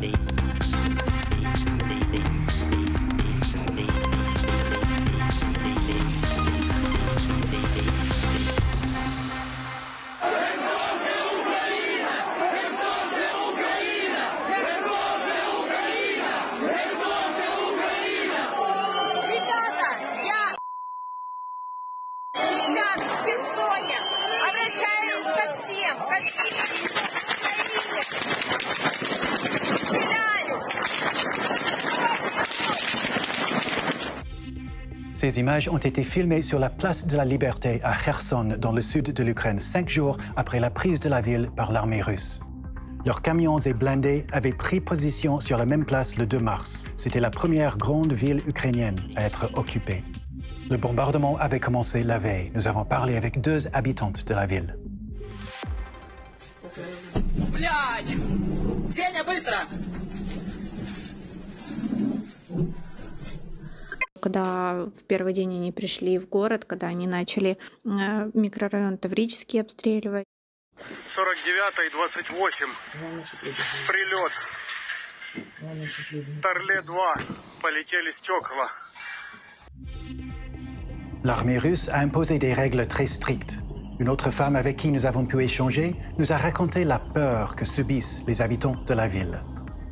Ces images ont été filmées sur la place de la Liberté à Kherson, dans le sud de l'Ukraine, 5 jours après la prise de la ville par l'armée russe. Leurs camions et blindés avaient pris position sur la même place le 2 mars. C'était la première grande ville ukrainienne à être occupée. Le bombardement avait commencé la veille. Nous avons parlé avec 2 habitantes de la ville. Блядь! Ксения, быстро! Когда в первый день они пришли в город, когда они начали микрорайон Таврический обстреливать. 49 и 28. Прилет. Торле-2. Полетели стекла. L'armée russe a imposé des règles très strictes. Une autre femme avec qui nous avons pu échanger nous a raconté la peur que subissent les habitants de la ville.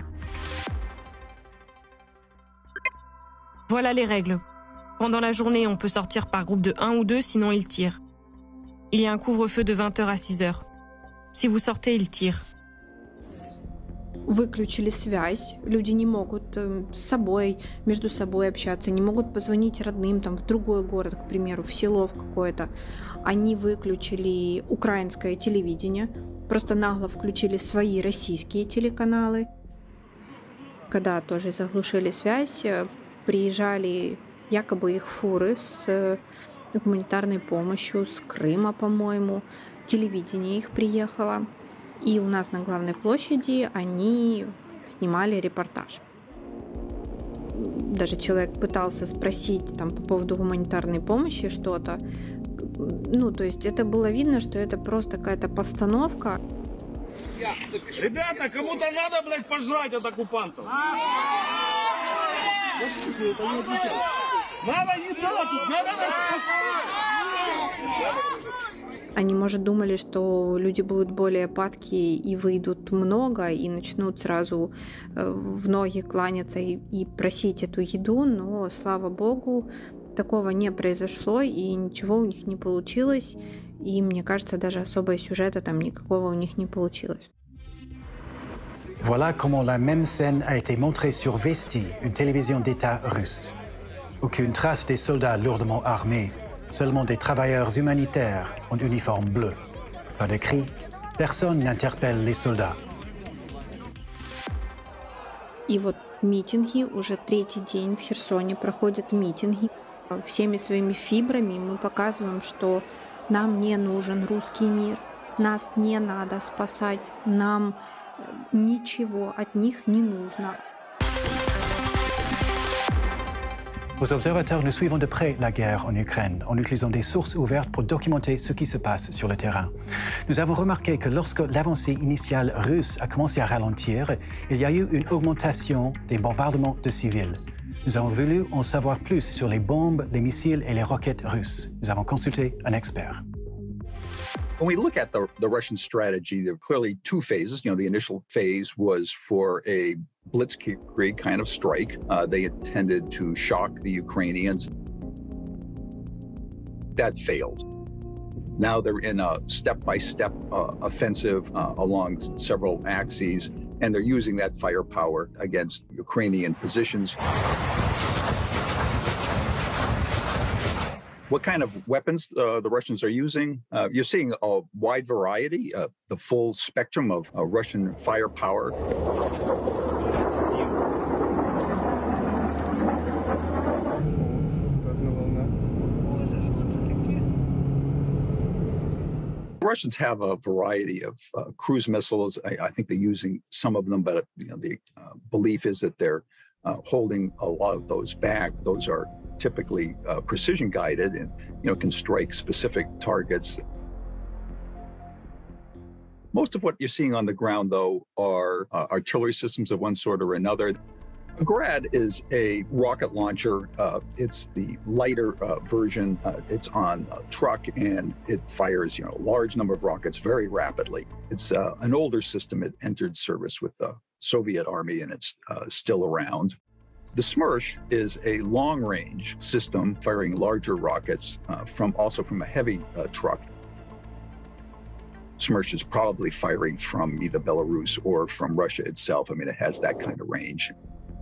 Voilà les règles. Pendant la journée, on peut sortir par groupe de 1 ou 2, sinon ils tirent. Il y a un couvre-feu de 20h à 6h. Si vous sortez, ils tirent. Выключили связь, люди не могут с собой, между собой общаться, не могут позвонить родным там, в другой город, к примеру, в село в какое-то. Они выключили украинское телевидение, просто нагло включили свои российские телеканалы. Когда тоже заглушили связь, приезжали якобы их фуры с гуманитарной помощью, с Крыма, по-моему. Телевидение их приехало. И у нас на главной площади они снимали репортаж. Даже человек пытался спросить там, по поводу гуманитарной помощи что-то. Ну, то есть это было видно, что это просто какая-то постановка. Ребята, кому-то надо, блядь, пожрать от оккупантов. Надо еда, тут надо нас спасать. Они, может, думали, что люди будут более падкие и выйдут много, и начнут сразу в ноги кланяться и просить эту еду, но, слава богу, такого не произошло, и ничего у них не получилось, и, мне кажется, даже особого сюжета там никакого у них не получилось. Voilà comment la même scène a été montrée sur Vesti, une télévision d'État russe. Aucune trace des soldats lourdement armés, seulement des travailleurs humanitaires en uniforme bleu. Pas de cris, personne n'interpelle les soldats. И вот митинги, уже 3-й день в Херсоне проходят митинги. Всеми своими фибрами мы показываем, что нам не нужен русский мир, нас не надо спасать, нам ничего от них не нужно. Aux observateurs, nous suivons de près la guerre en Ukraine en utilisant des sources ouvertes pour documenter ce qui se passe sur le terrain. Nous avons remarqué que lorsque l'avancée initiale russe a commencé à ralentir, il y a eu une augmentation des bombardements de civils. Nous avons voulu en savoir plus sur les bombes, les missiles et les roquettes russes. Nous avons consulté un expert. When we look at the Russian strategy, there are clearly 2 phases. You know, the initial phase was for a blitzkrieg kind of strike. They intended to shock the Ukrainians. That failed. Now they're in a step-by-step offensive along several axes, and they're using that firepower against Ukrainian positions. What kind of weapons the Russians are using? You're seeing a wide variety, the full spectrum of Russian firepower. The Russians have a variety of cruise missiles. I think they're using some of them, but you know, the belief is that they're holding a lot of those back. Those are typically precision guided and can strike specific targets. Most of what you're seeing on the ground, though, are artillery systems of one sort or another. A Grad is a rocket launcher. It's the lighter version. It's on a truck, and it fires, a large number of rockets very rapidly. It's an older system. It entered service with the Soviet Army, and it's still around. The Smersh is a long-range system firing larger rockets also from a heavy truck. Smersh is probably firing from either Belarus or from Russia itself. I mean, it has that kind of range.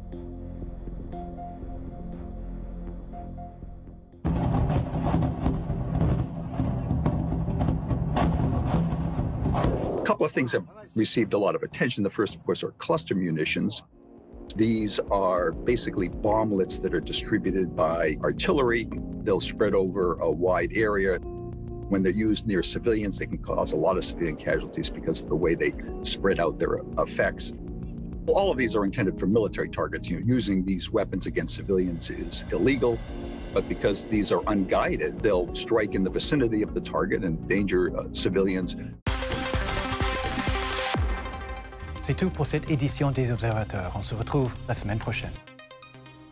A couple of things have received a lot of attention. The first, of course, are cluster munitions. These are basically bomblets that are distributed by artillery. They'll spread over a wide area. When they're used near civilians, they can cause a lot of civilian casualties because of the way they spread out their effects. All of these are intended for military targets. Using these weapons against civilians is illegal, but because these are unguided, they'll strike in the vicinity of the target and endanger civilians. C'est tout pour cette édition des Observateurs. On se retrouve la semaine prochaine.